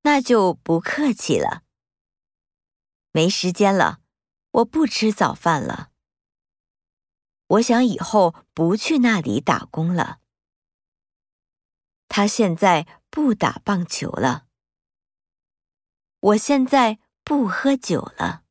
那就不客气了。没时间了，我不吃早饭了。我想以后不去那里打工了。他现在不打棒球了。我现在不喝酒了。